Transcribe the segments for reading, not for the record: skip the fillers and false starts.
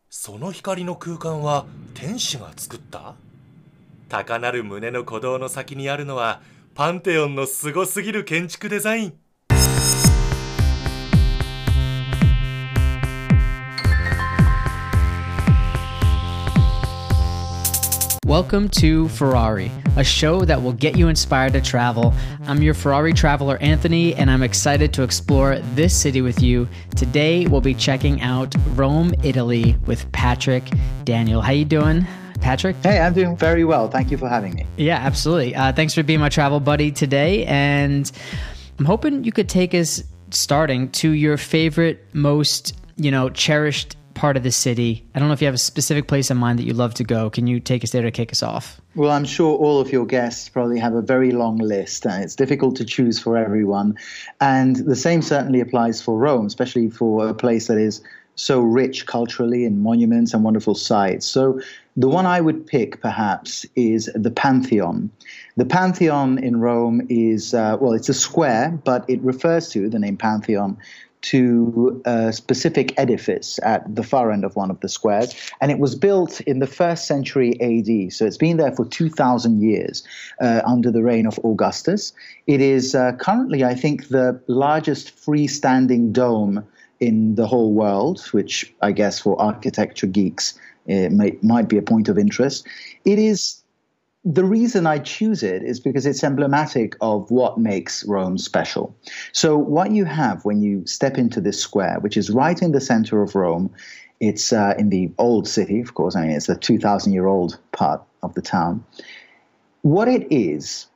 その光の空間は天使が作った？高鳴る胸の鼓動の先にあるのはパンテオンのすごすぎる建築デザイン。 Welcome to Ferrari, a show that will get you inspired to travel. I'm your Ferrari traveler, Anthony, and I'm excited to explore this city with you. Today, we'll be checking out Rome, Italy with Patrick Daniel. How you doing, Patrick? Hey, I'm doing very well. Thank you for having me. Yeah, absolutely. Thanks for being my travel buddy today. And I'm hoping you could take us starting to your favorite, most, cherished part of the city. I don't know if you have a specific place in mind that you love to go. Can you take us there to kick us off? Well, I'm sure all of your guests probably have a very long list, and it's difficult to choose for everyone. And the same certainly applies for Rome, especially for a place that is so rich culturally in monuments and wonderful sites. So the one I would pick, perhaps, is the Pantheon. The Pantheon in Rome is, it's a square, but it refers to, the name Pantheon, to a specific edifice at the far end of one of the squares. And it was built in the 1st century AD. So it's been there for 2,000 years under the reign of Augustus. It is currently, I think, the largest freestanding dome in the whole world, which I guess for architecture geeks might be a point of interest. It is. The reason I choose it is because it's emblematic of what makes Rome special. So what you have when you step into this square, which is right in the center of Rome, it's in the old city, of course. I mean, it's the 2,000-year-old part of the town. What it is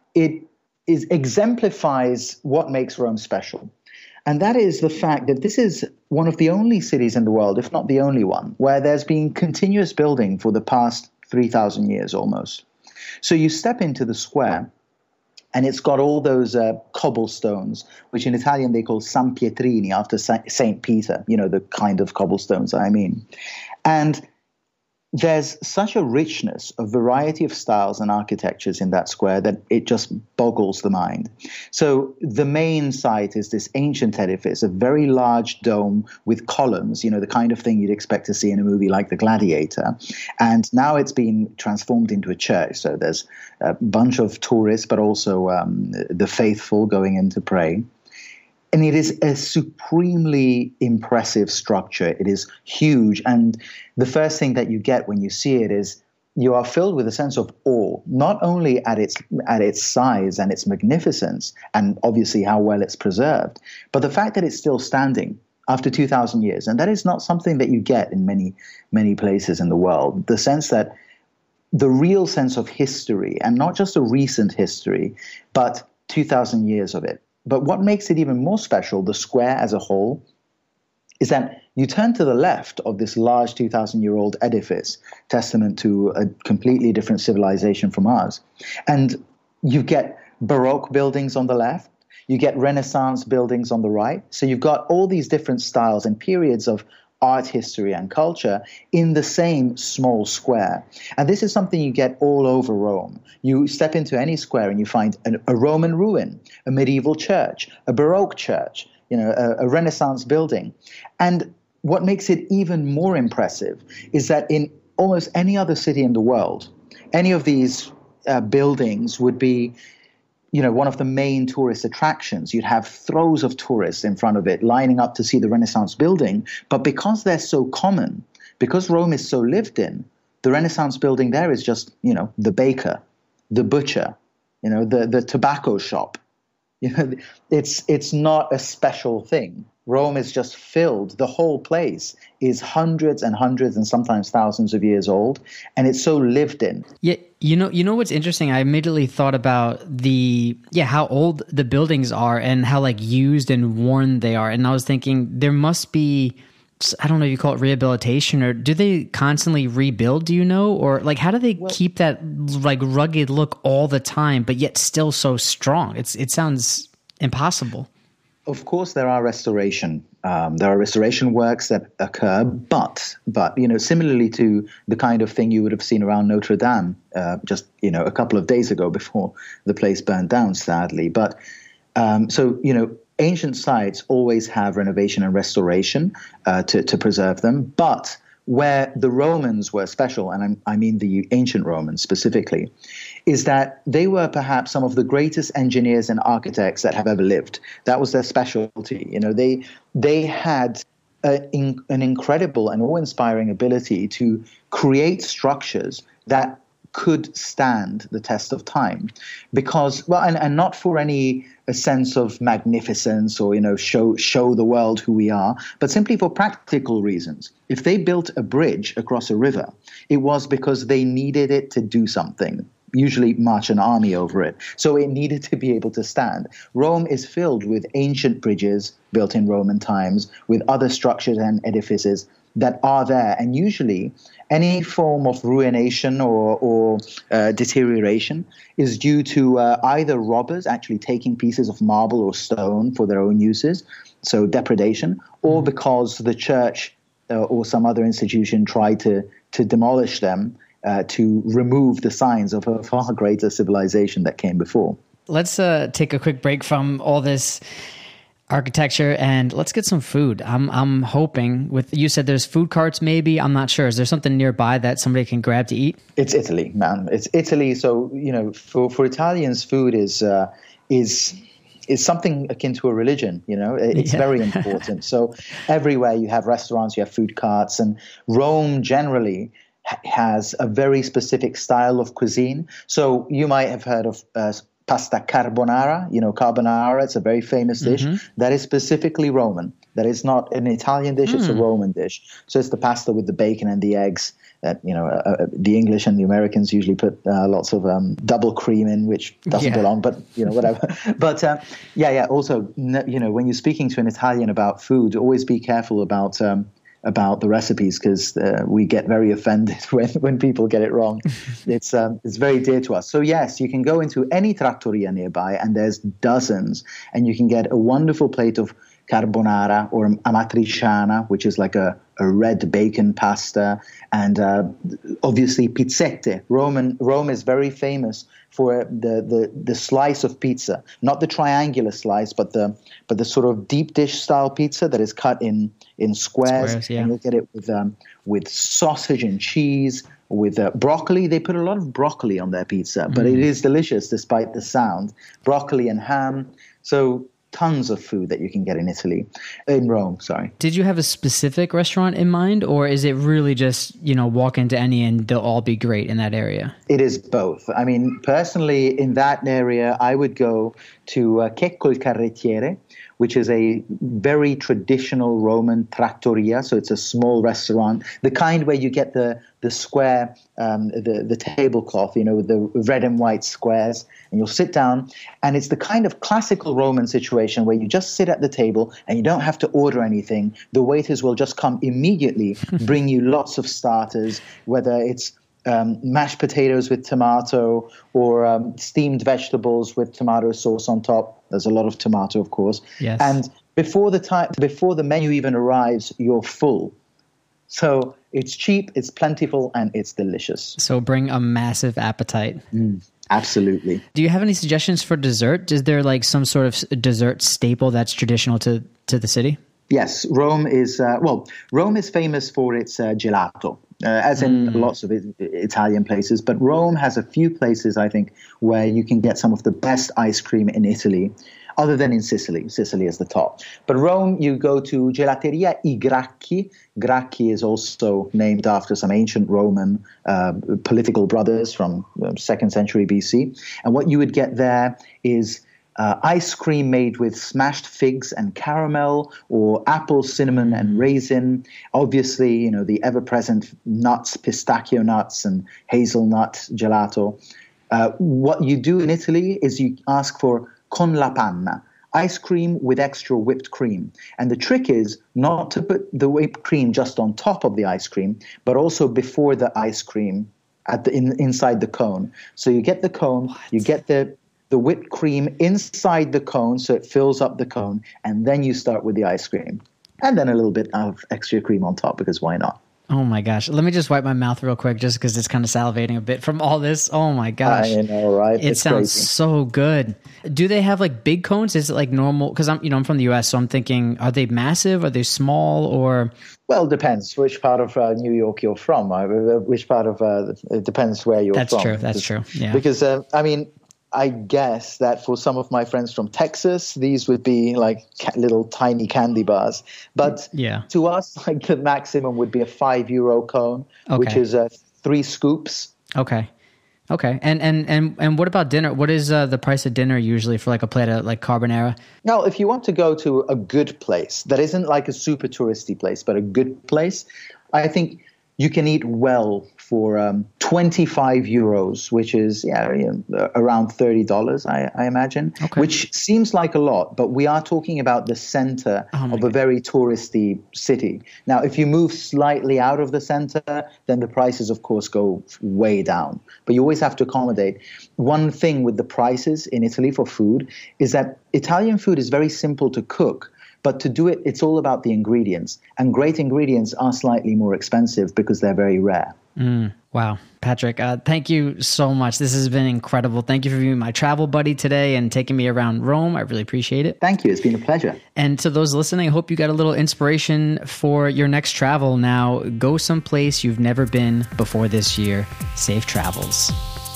exemplifies what makes Rome special. And that is the fact that this is one of the only cities in the world, if not the only one, where there's been continuous building for the past 3,000 years almost. So you step into the square, and it's got all those cobblestones, which in Italian they call San Pietrini, after Saint Peter, the kind of cobblestones I mean. And there's such a richness, a variety of styles and architectures in that square that it just boggles the mind. So the main site is this ancient edifice, a very large dome with columns, the kind of thing you'd expect to see in a movie like The Gladiator. And now it's been transformed into a church. So there's a bunch of tourists, but also the faithful going in to pray. And it is a supremely impressive structure. It is huge. And the first thing that you get when you see it is you are filled with a sense of awe, not only at its size and its magnificence, and obviously how well it's preserved, but the fact that it's still standing after 2,000 years. And that is not something that you get in many, many places in the world. The sense that the real sense of history, and not just a recent history, but 2,000 years of it. But what makes it even more special, the square as a whole, is that you turn to the left of this large 2,000-year-old edifice, testament to a completely different civilization from ours. And you get Baroque buildings on the left. You get Renaissance buildings on the right. So you've got all these different styles and periods of art history and culture in the same small square. And this is something you get all over Rome. You step into any square and you find a Roman ruin, a medieval church, a Baroque church, a Renaissance building. And what makes it even more impressive is that in almost any other city in the world, any of these buildings would be one of the main tourist attractions. You'd have throes of tourists in front of it lining up to see the Renaissance building. But because they're so common, because Rome is so lived in, the Renaissance building there is just, the baker, the butcher, the tobacco shop. It's not a special thing. Rome is just filled. The whole place is hundreds and hundreds and sometimes thousands of years old, and it's so lived in. Yeah, you know what's interesting? I immediately thought about how old the buildings are and how used and worn they are, and I was thinking there must be, I don't know if you call it rehabilitation, or do they constantly rebuild? Do you know, or how do they keep that rugged look all the time, but yet still so strong? It sounds impossible. Of course, there are restoration works that occur, but similarly to the kind of thing you would have seen around Notre Dame just a couple of days ago before the place burned down, sadly. But ancient sites always have renovation and restoration to preserve them, but where the Romans were special, and I mean the ancient Romans specifically, is that they were perhaps some of the greatest engineers and architects that have ever lived. That was their specialty. They had an incredible and awe-inspiring ability to create structures that could stand the test of time, because and not for any a sense of magnificence or show the world who we are, but simply for practical reasons. If they built a bridge across a river, it was because they needed it to do something, usually march an army over it. So it needed to be able to stand. Rome is filled with ancient bridges built in Roman times, with other structures and edifices that are there. And usually any form of ruination or deterioration is due to either robbers actually taking pieces of marble or stone for their own uses, so depredation, or because the church or some other institution tried to demolish them to remove the signs of a far greater civilization that came before. Let's take a quick break from all this architecture and let's get some food. I'm hoping you said there's food carts maybe. I'm not sure. Is there something nearby that somebody can grab to eat? It's Italy, man. It's Italy. So, for Italians, food is something akin to a religion. It's very important. So everywhere you have restaurants, you have food carts, and Rome generally has a very specific style of cuisine. So you might have heard of pasta carbonara, carbonara. It's a very famous dish that is specifically Roman. That is not an Italian dish, it's a Roman dish. So it's the pasta with the bacon and the eggs that, the English and the Americans usually put lots of double cream in, which doesn't belong, but, whatever. But, also, when you're speaking to an Italian about food, always be careful about the recipes, because we get very offended when people get it wrong. It's very dear to us. So yes, you can go into any trattoria nearby, and there's dozens, and you can get a wonderful plate of carbonara or amatriciana, which is like a red bacon pasta, and obviously pizzette. Rome is very famous for the slice of pizza, not the triangular slice, but the sort of deep dish style pizza that is cut in squares. And you'll get it with sausage and cheese, with broccoli. They put a lot of broccoli on their pizza, but it is delicious despite the sound. Broccoli and ham. So tons of food that you can get in Rome, sorry. Did you have a specific restaurant in mind, or is it really just, walk into any and they'll all be great in that area? It is both. I mean, personally, in that area, I would go to Checco il Carrettiere, which is a very traditional Roman trattoria. So it's a small restaurant, the kind where you get the square, the tablecloth, with the red and white squares, and you'll sit down. And it's the kind of classical Roman situation where you just sit at the table and you don't have to order anything. The waiters will just come immediately, bring you lots of starters, whether it's mashed potatoes with tomato or steamed vegetables with tomato sauce on top. There's a lot of tomato, of course. Yes. And before the menu even arrives, you're full. So it's cheap, it's plentiful, and it's delicious. So bring a massive appetite. Absolutely. Do you have any suggestions for dessert? Is there like some sort of dessert staple that's traditional to the city? Yes, Rome is famous for its gelato, as in lots of Italian places. But Rome has a few places, I think, where you can get some of the best ice cream in Italy, other than in Sicily. Sicily is the top. But Rome, you go to Gelateria I Gracchi. Gracchi is also named after some ancient Roman political brothers from the 2nd century BC. And what you would get there is ice cream made with smashed figs and caramel, or apple, cinnamon, and raisin. Obviously, the ever-present nuts, pistachio nuts and hazelnut gelato. What you do in Italy is you ask for con la panna, ice cream with extra whipped cream. And the trick is not to put the whipped cream just on top of the ice cream, but also before the ice cream inside the cone. So you get the cone, you get the whipped cream inside the cone so it fills up the cone, and then you start with the ice cream. And then a little bit of extra cream on top, because why not? Oh my gosh. Let me just wipe my mouth real quick just because it's kind of salivating a bit from all this. Oh my gosh. I know, right? It It's sounds crazy. so good. Do they have like big cones? Is it like normal? Because I'm from the US, so I'm thinking, are they massive? Are they small? Or Well, it depends which part of New York you're from. Which part of it depends where you're That's from. true. That's true. Yeah. Because I mean, I guess that for some of my friends from Texas, these would be like little tiny candy bars. But Yeah. to us, like the maximum would be a €5 cone, which Okay. is 3 scoops. Okay. Okay. And what about dinner? What is the price of dinner usually for like a plate of like carbonara? Now, if you want to go to a good place that isn't like a super touristy place, but a good place, I think you can eat well for €25, which is around $30, I imagine, Okay. which seems like a lot, but we are talking about the center of a very touristy city. Now, if you move slightly out of the center, then the prices, of course, go way down. But you always have to accommodate. One thing with the prices in Italy for food is that Italian food is very simple to cook. But to do it, it's all about the ingredients. And great ingredients are slightly more expensive because they're very rare. Wow. Patrick, thank you so much. This has been incredible. Thank you for being my travel buddy today and taking me around Rome. I really appreciate it. Thank you. It's been a pleasure. And to those listening, I hope you got a little inspiration for your next travel. Now, go someplace you've never been before this year. Safe travels.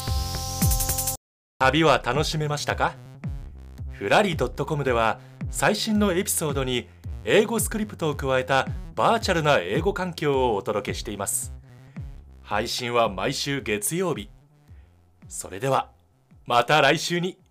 旅は楽しめましたか？ふらり .com では最新のエピソードに英語スクリプトを加えたバーチャルな英語環境をお届けしています。配信は毎週月曜日。それではまた来週に。